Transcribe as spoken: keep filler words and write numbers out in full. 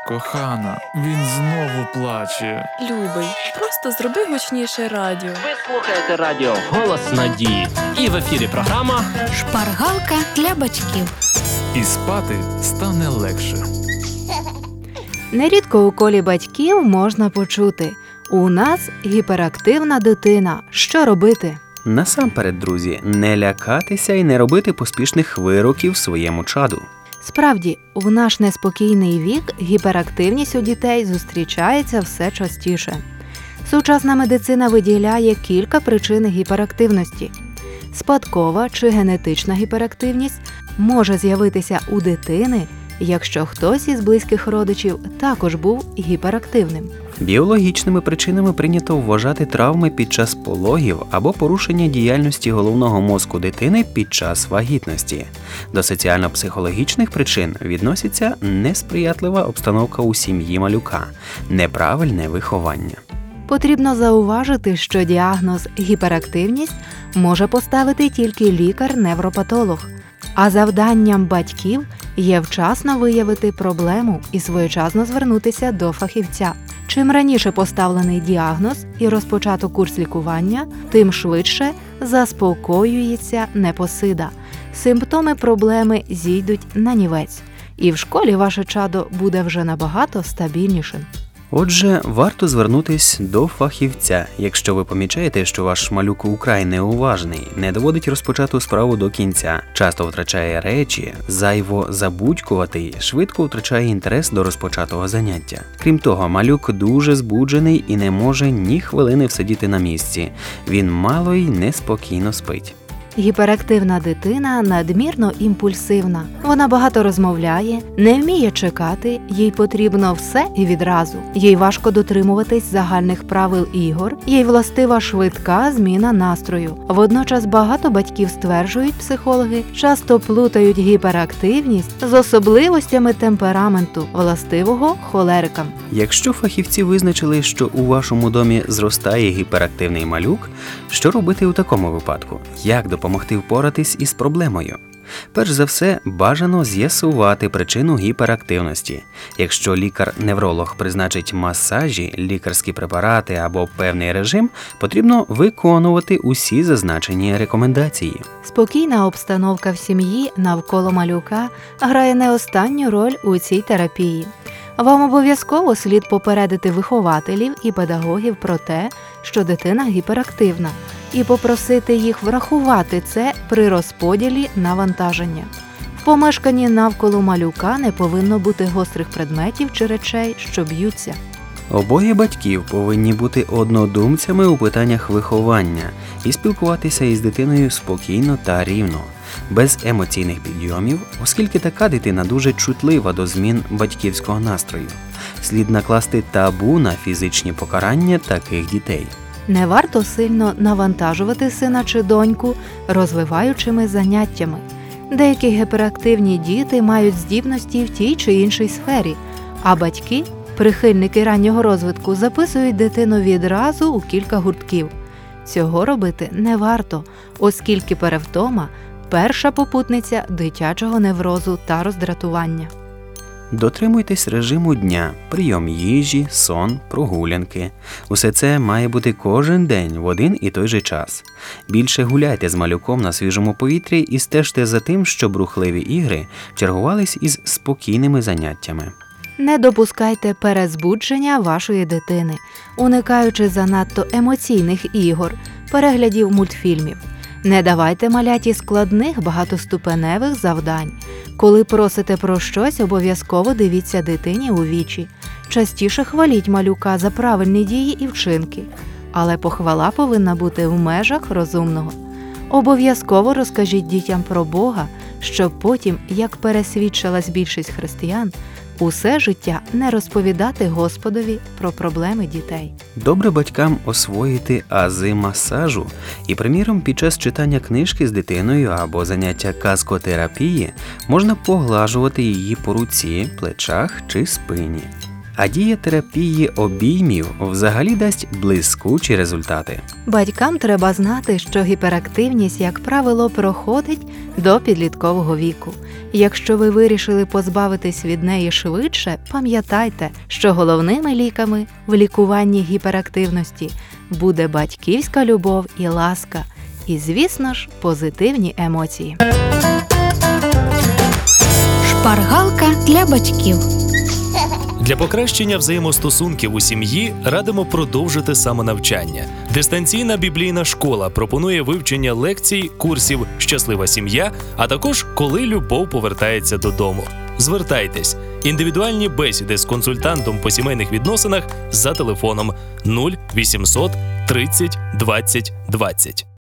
Кохана, він знову плаче. Любий, просто зроби гучніше радіо. Ви слухаєте радіо «Голос надії». І в ефірі програма «Шпаргалка для батьків». І спати стане легше. Нерідко у колі батьків можна почути: «У нас гіперактивна дитина. Що робити?» Насамперед, друзі, не лякатися і не робити поспішних вироків своєму чаду. Справді, в наш неспокійний вік гіперактивність у дітей зустрічається все частіше. Сучасна медицина виділяє кілька причин гіперактивності. Спадкова чи генетична гіперактивність може з'явитися у дитини, якщо хтось із близьких родичів також був гіперактивним. Біологічними причинами прийнято вважати травми під час пологів або порушення діяльності головного мозку дитини під час вагітності. До соціально-психологічних причин відноситься несприятлива обстановка у сім'ї малюка, неправильне виховання. Потрібно зауважити, що діагноз гіперактивність може поставити тільки лікар-невропатолог, а завданням батьків є вчасно виявити проблему і своєчасно звернутися до фахівця. Чим раніше поставлений діагноз і розпочато курс лікування, тим швидше заспокоюється непосида. Симптоми проблеми зійдуть нанівець, і в школі ваше чадо буде вже набагато стабільнішим. Отже, варто звернутись до фахівця, якщо ви помічаєте, що ваш малюк украй неуважний, не доводить розпочату справу до кінця, часто втрачає речі, зайво забудькуватий, швидко втрачає інтерес до розпочатого заняття. Крім того, малюк дуже збуджений і не може ні хвилини всидіти на місці. Він мало й неспокійно спить. Гіперактивна дитина надмірно імпульсивна. Вона багато розмовляє, не вміє чекати, їй потрібно все і відразу. Їй важко дотримуватись загальних правил ігор, їй властива швидка зміна настрою. Водночас багато батьків стверджують, психологи, часто плутають гіперактивність з особливостями темпераменту, властивого холерикам. Якщо фахівці визначили, що у вашому домі зростає гіперактивний малюк, що робити у такому випадку? Як допомогти? Допомогти впоратись із проблемою? Перш за все, бажано з'ясувати причину гіперактивності. Якщо лікар-невролог призначить масажі, лікарські препарати або певний режим, потрібно виконувати усі зазначені рекомендації. Спокійна обстановка в сім'ї навколо малюка грає не останню роль у цій терапії. Вам обов'язково слід попередити вихователів і педагогів про те, що дитина гіперактивна, і попросити їх врахувати це при розподілі навантаження. В помешканні навколо малюка не повинно бути гострих предметів чи речей, що б'ються. Обоє батьків повинні бути однодумцями у питаннях виховання і спілкуватися із дитиною спокійно та рівно, без емоційних підйомів, оскільки така дитина дуже чутлива до змін батьківського настрою. Слід накласти табу на фізичні покарання таких дітей. Не варто сильно навантажувати сина чи доньку розвиваючими заняттями. Деякі гіперактивні діти мають здібності в тій чи іншій сфері, а батьки, прихильники раннього розвитку, записують дитину відразу у кілька гуртків. Цього робити не варто, оскільки перевтома – перша попутниця дитячого неврозу та роздратування. Дотримуйтесь режиму дня, прийом їжі, сон, прогулянки. Усе це має бути кожен день в один і той же час. Більше гуляйте з малюком на свіжому повітрі і стежте за тим, щоб рухливі ігри чергувались із спокійними заняттями. Не допускайте перезбудження вашої дитини, уникаючи занадто емоційних ігор, переглядів мультфільмів. Не давайте маляті складних багатоступеневих завдань. Коли просите про щось, обов'язково дивіться дитині у вічі. Частіше хваліть малюка за правильні дії і вчинки. Але похвала повинна бути в межах розумного. Обов'язково розкажіть дітям про Бога, щоб потім, як пересвідчилась більшість християн, усе життя не розповідати Господові про проблеми дітей. Добре батькам освоїти ази масажу і, приміром, під час читання книжки з дитиною або заняття казкотерапії можна поглажувати її по руці, плечах чи спині. А дія терапії обіймів взагалі дасть блискучі результати. Батькам треба знати, що гіперактивність, як правило, проходить до підліткового віку. Якщо ви вирішили позбавитись від неї швидше, пам'ятайте, що головними ліками в лікуванні гіперактивності буде батьківська любов і ласка, і, звісно ж, позитивні емоції. Шпаргалка для батьків. Для покращення взаємостосунків у сім'ї радимо продовжити самонавчання. Дистанційна біблійна школа пропонує вивчення лекцій, курсів «Щаслива сім'я», а також «Коли любов повертається додому». Звертайтесь. Індивідуальні бесіди з консультантом по сімейних відносинах за телефоном нуль вісімсот тридцять двадцять двадцять.